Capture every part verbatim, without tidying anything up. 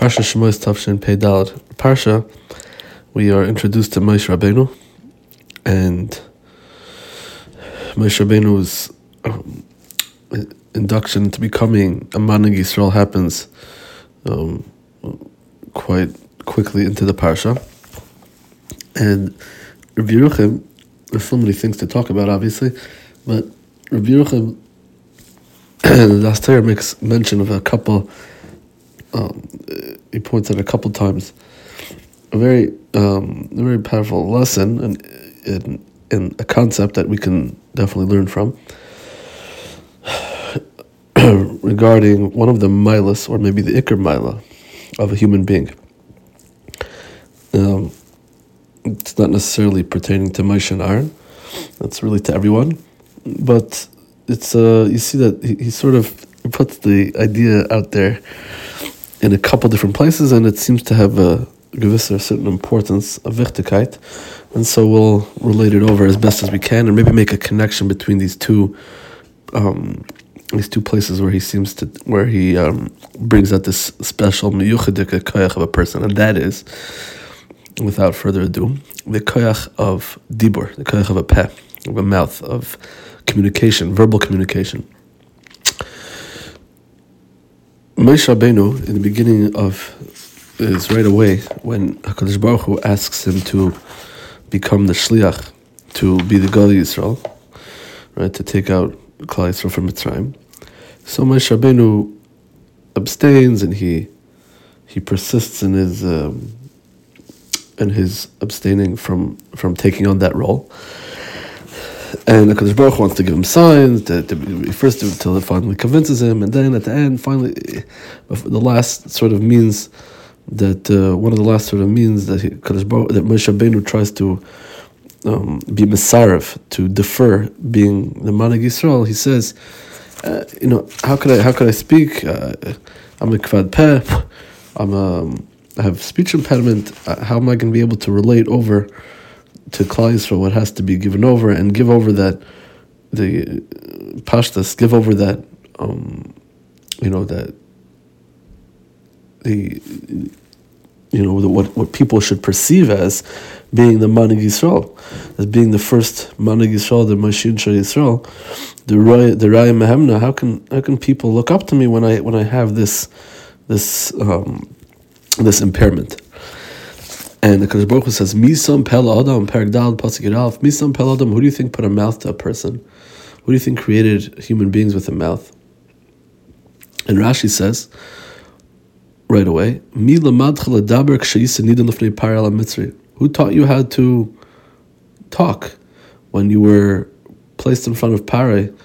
Parsha Shemos Tafshin Pei Daled. Parsha, we are introduced to Moshe Rabbeinu, and Moshe Rabbeinu's um, induction to becoming a Manig Yisrael happens um, quite quickly into the Parsha. And Rabbi Yeruchim, there's so many things to talk about, obviously, but Rabbi Yeruchim, the Asher makes mention of a couple. Um, he points out a couple times a very, um, a very powerful lesson and in, in a concept that we can definitely learn from regarding one of the milas, or maybe the ikar mila, of a human being. Um, it's not necessarily pertaining to Moshe and Aaron; it's really to everyone. But it's uh, you see that he, he sort of puts the idea out there in a couple different places, and it seems to have a gewisser certain importance, a wichtigkeit, and so we'll relate it over as best as we can, and maybe make a connection between these two, um, these two places where he seems to, where he um, brings out this special miyuchadik koyach of a person, and that is, without further ado, the koyach of dibur, the koyach of a peh, of a mouth, of communication, verbal communication. Moshe Rabbeinu, in the beginning of, is right away when HaKadosh Baruch Hu asks him to become the shliach, to be the Gali Yisrael, right, to take out Klal Yisrael from Mitzrayim. So Moshe Rabbeinu abstains, and he he persists in his um, in his abstaining from from taking on that role. And the HaKadosh Baruch Hu wants to give him signs, to, to, first until it finally convinces him, and then at the end, finally, the last sort of means that, uh, one of the last sort of means that he, HaKadosh Baruch, that Moshe Rabbeinu tries to um, be Mesaref, to defer being the Manig Yisrael. He says, uh, you know, how could I, how could I speak? Uh, I'm a kvad peh, I'm a, I have speech impediment. Uh, how am I going to be able to relate over to Klal Yisrael what has to be given over, and give over that, the uh, pashtas, give over that, um, you know, that the, you know, the, what what people should perceive as being the Manig Yisrael, as being the first Manig Yisrael, the Mashin Shal Yisrael, the Raya, the Raya Mehemna. How can how can people look up to me when I when I have this this um, this impairment? And the HaKadosh Baruch Hu says, Misam Pel Adam, Perek Daled, Pasuk Yud, Misam Pel Adam, who do you think put a mouth to a person? Who do you think created human beings with a mouth? And Rashi says, right away, Mi lamadcha ledaber k'sheyisa nidan lefnei Paro ala Mitzri. Who taught you how to talk when you were placed in front of Paro,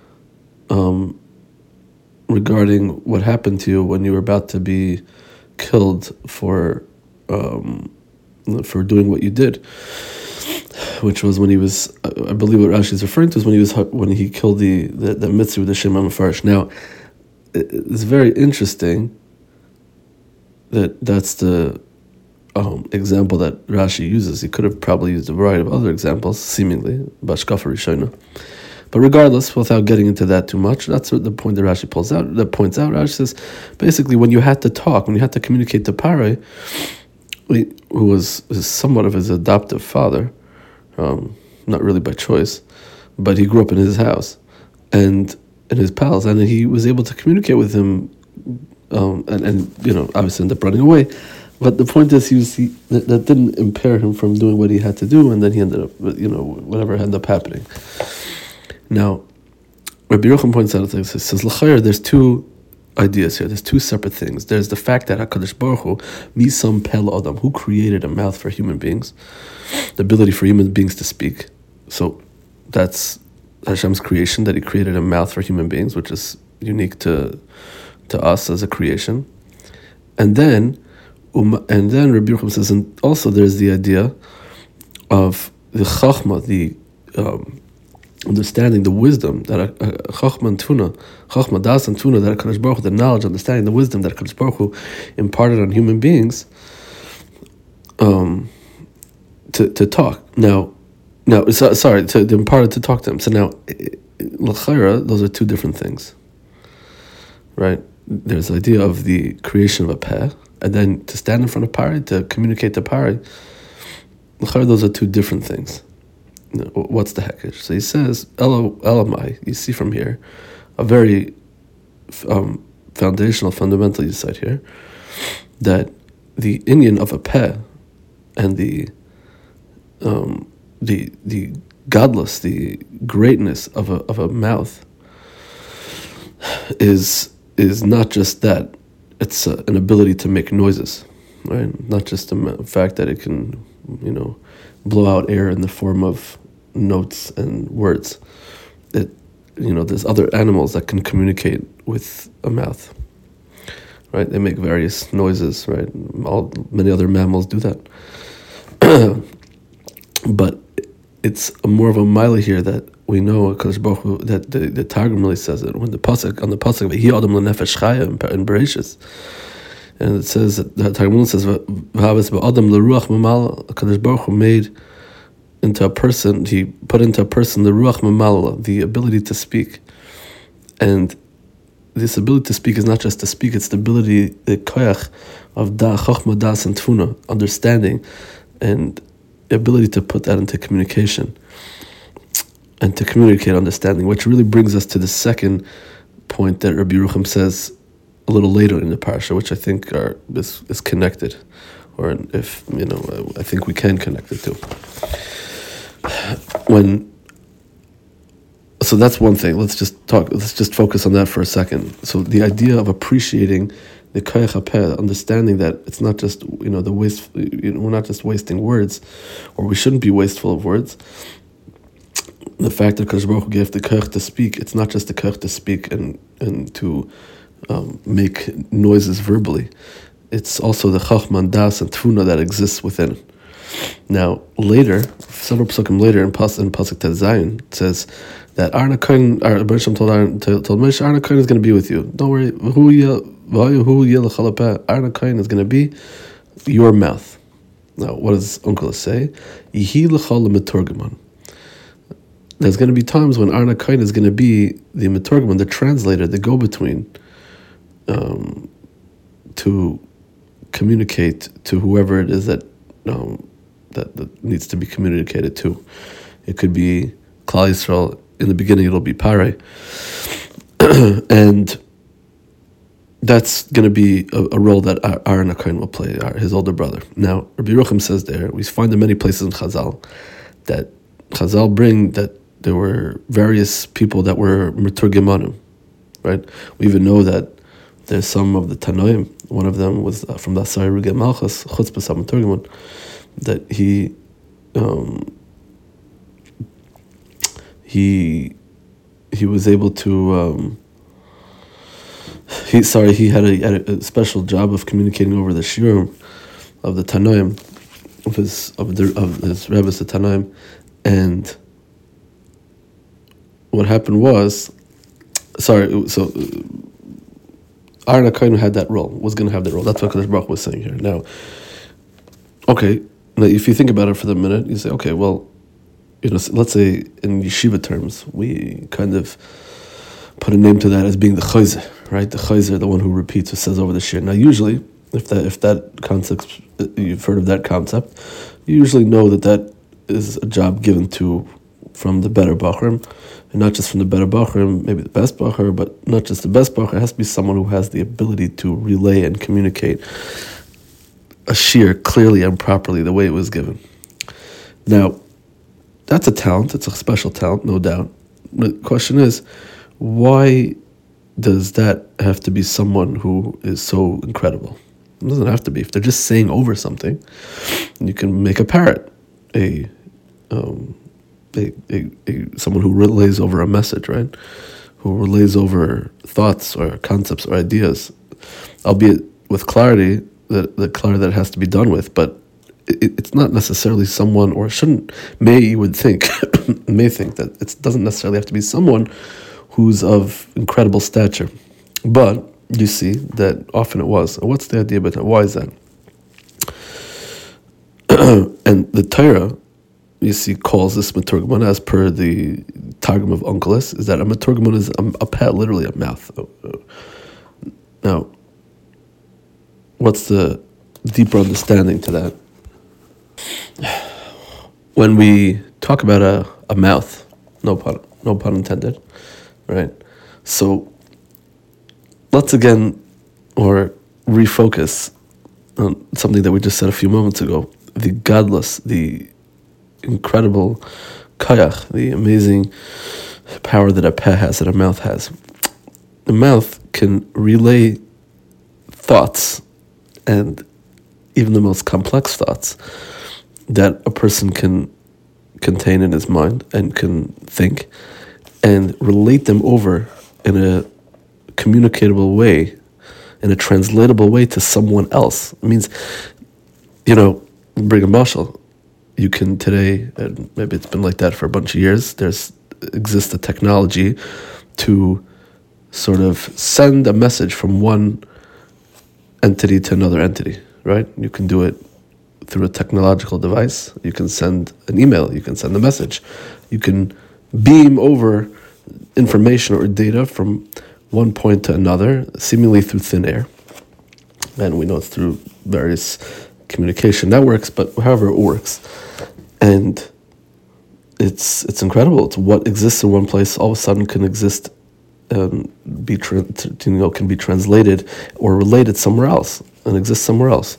um, regarding what happened to you when you were about to be killed for um, for doing what you did, which was when he was, I believe what Rashi is referring to is when he was when he killed the the, the Mitzri with the Shem HaMefarish. Now, it's very interesting that that's the um, example that Rashi uses. He could have probably used a variety of other examples, seemingly, Bashkafa Rishona. But regardless, without getting into that too much, that's what the point that Rashi pulls out, that points out. Rashi says, basically, when you had to talk, when you had to communicate to Paro, who was somewhat of his adoptive father, um, not really by choice, but he grew up in his house and in his palace, and he was able to communicate with him, um, and, and you know, obviously ended up running away. But the point is, he was he, that, that didn't impair him from doing what he had to do, and then he ended up, you know, whatever ended up happening. Now, Rabbi Yeruchim points out, he says, L'chayr, there's two ideas here. There's two separate things. There's the fact that HaKadosh Baruch Hu, Misam Pel Adam, who created a mouth for human beings, the ability for human beings to speak. So that's Hashem's creation, that He created a mouth for human beings, which is unique to to us as a creation. And then, um, and then Rabbi Yeruchim says, and also there's the idea of the Chachma, the um, understanding, the wisdom that a Chachma and Tuna, Chachma Das and Tuna, that HaKadosh Baruch Hu, the knowledge, understanding, the wisdom that HaKadosh Baruch Hu imparted on human beings, um, to to talk. Now, now, so, sorry, to, to impart to talk to them. So now, l'chayra, those are two different things, right? There's the idea of the creation of a peh, and then to stand in front of Pari, to communicate to Pari, those are two different things. What's the hekesh? So he says, Elo, Elamai, you see from here, a very um, foundational, fundamental insight here, that the inyan of a peh and the um, the the godless, the greatness of a of a mouth is is not just that; it's uh, an ability to make noises, right? Not just the fact that it can, you know, blow out air in the form of notes and words. It, you know, there's other animals that can communicate with a mouth, right? They make various noises, right? All many other mammals do that, but it's a more of a mile here that we know that the, the Targum really says it when the pasuk on the pasuk of Hi Adam L'Nefesh Chaya in Bereshis, and it says that the Targum says V'havas Ba'Adam L'Ruach Mamal, HaKadosh Baruch Hu made into a person, he put into a person the Ruach Mamal, the ability to speak. And this ability to speak is not just to speak, it's the ability, the koyach of da, chochma, das, and tfuna, understanding, and the ability to put that into communication, and to communicate understanding, which really brings us to the second point that Rabbi Yerucham says a little later in the parsha, which I think are is, is connected, or if, you know, I think we can connect it to. When, so that's one thing. Let's just talk. Let's just focus on that for a second. So the idea of appreciating the koyach hapeh, understanding that it's not just, you know, the waste. You know, we're not just wasting words, or we shouldn't be wasteful of words. The fact that Kadosh Baruch Hu gave the koyach to speak, it's not just the koyach to speak and and to um, make noises verbally. It's also the chachma, das, and tfuna that exists within it. Now, later, several psukim later in Pas in Pasuk Tet Zayin, it says that Aaron HaKohen, Bereshim told Aaron, told Moshe, Aaron HaKohen is going to be with you. Don't worry. Aaron HaKohen is going to be your mouth. Now, what does Uncle say? Yihi l'chal l'meturgaman. There's going to be times when Aaron HaKohen is going to be the meturgaman, the translator, the go-between, um, to communicate to whoever it is that um, That, that needs to be communicated to. It could be Klal Yisrael. In the beginning, it'll be Pare, and that's going to be a, a role that Aaron HaKohen will play, his older brother. Now, Rabbi Yerucham says there, we find in many places in Chazal that Chazal bring that there were various people that were Meturgimanim, right? We even know that there's some of the Tanoim. One of them was uh, from the Asari Ruge Malchus, Chutzpah Meturgiman, that he um, he he was able to um, he sorry he had a, had a special job of communicating over the shiur of the Tanoim of his of the of his Rebbe's the Tanoim, and what happened was sorry so Aaron HaKohen had that role, was going to have that role. That's what Kadosh Baruch Hu was saying here. Now, okay. Now, if you think about it for the minute, you say, okay, well, you know, let's say in yeshiva terms, we kind of put a name to that as being the chayzer, right? The chayzer, the one who repeats, who says over the shir. Now, usually, if that if that concept, you've heard of that concept, you usually know that that is a job given to from the better bachrim, and not just from the better bachrim, maybe the best bachar, but not just the best bachar. It has to be someone who has the ability to relay and communicate a shir clearly and properly the way it was given. Now, that's a talent. It's a special talent, no doubt. The question is, why does that have to be someone who is so incredible? It doesn't have to be. If they're just saying over something, you can make a parrot, a, um, a, a, a someone who relays over a message, right? Who relays over thoughts or concepts or ideas, albeit with clarity, the, the clarity that it has to be done with, but it, it's not necessarily someone, or shouldn't, may you would think, may think that it doesn't necessarily have to be someone who's of incredible stature. But you see that often it was. What's the idea about that? Why is that? And the Torah, you see, calls this Meturgaman, as per the Targum of Onkelos, is that a Meturgaman is a, a pet, literally a mouth. Now, what's the deeper understanding to that? When we talk about a, a mouth, no pun, no pun intended, right? So let's again, or refocus on something that we just said a few moments ago, the godless, the incredible kayach, the amazing power that a peh has, that a mouth has. The mouth can relay thoughts, and even the most complex thoughts that a person can contain in his mind and can think, and relate them over in a communicatable way, in a translatable way to someone else. It means, you know, bring a mashal. You can today, and maybe it's been like that for a bunch of years, there's exists a technology to sort of send a message from one entity to another entity, right? You can do it through a technological device. You can send an email, you can send a message. You can beam over information or data from one point to another, seemingly through thin air. And we know it's through various communication networks, but however it works. And it's it's incredible. It's what exists in one place all of a sudden can exist, um, be tra- you know, can be translated or related somewhere else and exist somewhere else.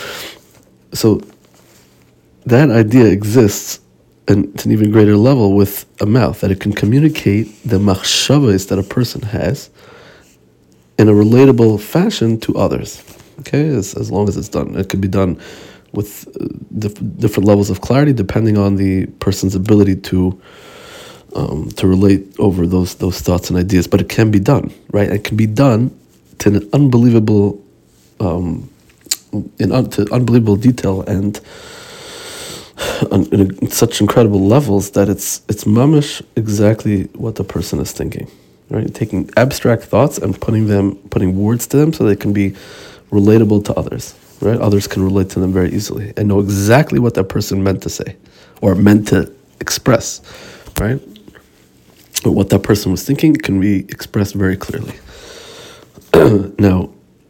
So that idea exists, and to an even greater level with a mouth, that it can communicate the machshavos that a person has in a relatable fashion to others. Okay, as, as long as it's done. It can be done with uh, diff- different levels of clarity depending on the person's ability to um, to relate over those those thoughts and ideas. But it can be done, right? It can be done to an unbelievable, um, in un- to unbelievable detail and on, in such incredible levels that it's it's mamish exactly what the person is thinking, right? Taking abstract thoughts and putting them, putting words to them so they can be relatable to others, right? Others can relate to them very easily and know exactly what that person meant to say or meant to express, right? Or what that person was thinking can be expressed very clearly. Now,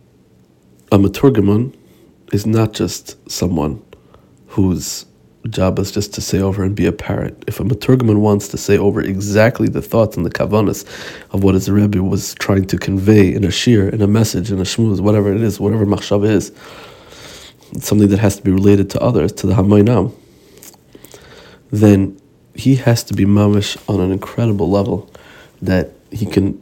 a maturgaman is not just someone whose job is just to say over and be a parrot. If a maturgaman wants to say over exactly the thoughts and the kavanas of what his Rebbe was trying to convey in a shir, in a message, in a shmuz, whatever it is, whatever machshav is, it's something that has to be related to others, to the hamayinam, then he has to be mamish on an incredible level that he can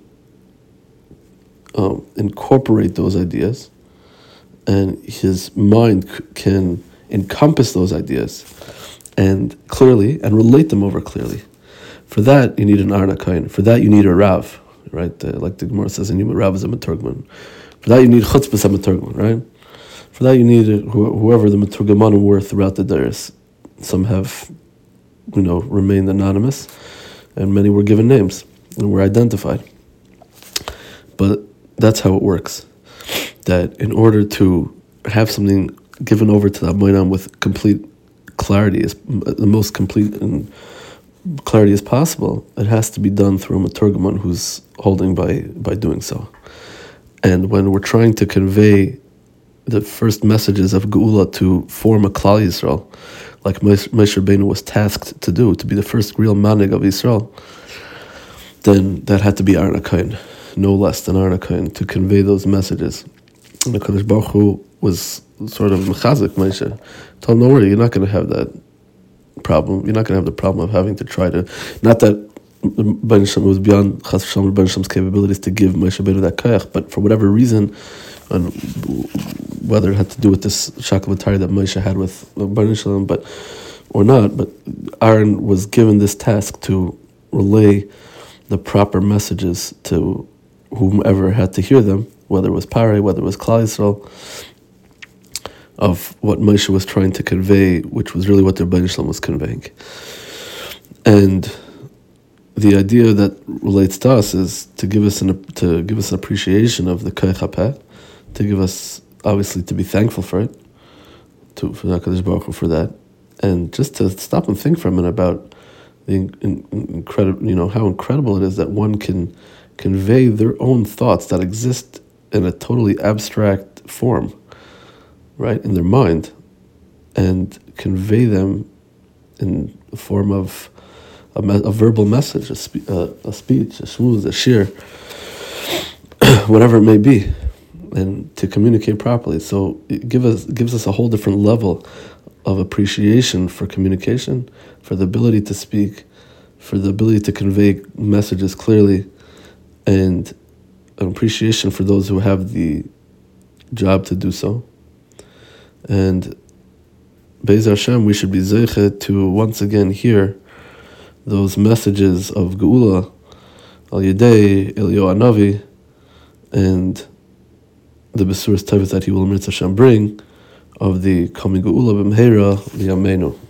um, incorporate those ideas, and his mind c- can encompass those ideas and clearly and relate them over clearly. For that, you need an Arna Kain. For that, you need a Rav, right? Uh, like the Gemara says, and Rav is a Maturgman. For that, you need Chutzpah a Maturgman, right? For that, you need a, wh- whoever the Maturgmanim were throughout the Dairis. Some have, you know, remained anonymous, and many were given names and were identified. But that's how it works. That in order to have something given over to the Moinam with complete clarity, is the most complete and clarity as possible, it has to be done through a Maturgaman who's holding by by doing so. And when we're trying to convey the first messages of Geula to form a Klal Yisrael, like Moshe Rabbeinu was tasked to do, to be the first real manig of Yisrael, then that had to be Arna Kain, no less than Arna Kain, to convey those messages. And the Kadosh Baruch Hu was sort of mechazik Moshe. Told him, don't worry, you're not going to have that problem. You're not going to have the problem of having to try to, not that Ben Shem was beyond Chas V'Shalom Ben Shem's capabilities to give Moshe Rabbeinu that koyach, but for whatever reason, and whether it had to do with this shakavatari that Moshe had with Ben Shem, but or not, but Aaron was given this task to relay the proper messages to whomever had to hear them, whether it was Parei, whether it was Klal Yisrael, of what Moshe was trying to convey, which was really what the Rebbeinu Shalom was conveying. And the idea that relates to us is to give us an to give us an appreciation of the Koyach HaPeh, to give us, obviously, to be thankful for it, to for HaKadosh Baruch Hu for that, and just to stop and think for a minute about the in, in, incredible, you know, how incredible it is that one can convey their own thoughts that exist in a totally abstract form, right, in their mind, and convey them in the form of a, me- a verbal message, a, spe- uh, a speech, a shmuz, a shir, whatever it may be, and to communicate properly. So it give us gives us a whole different level of appreciation for communication, for the ability to speak, for the ability to convey messages clearly, and an appreciation for those who have the job to do so. And Be'ez Hashem, we should be zeiche to once again hear those messages of Geula al Yedei Eliyahu Hanavi and the Besuras Tevis that he will Mirz Hashem bring of the coming Geula b'mheira liyameinu.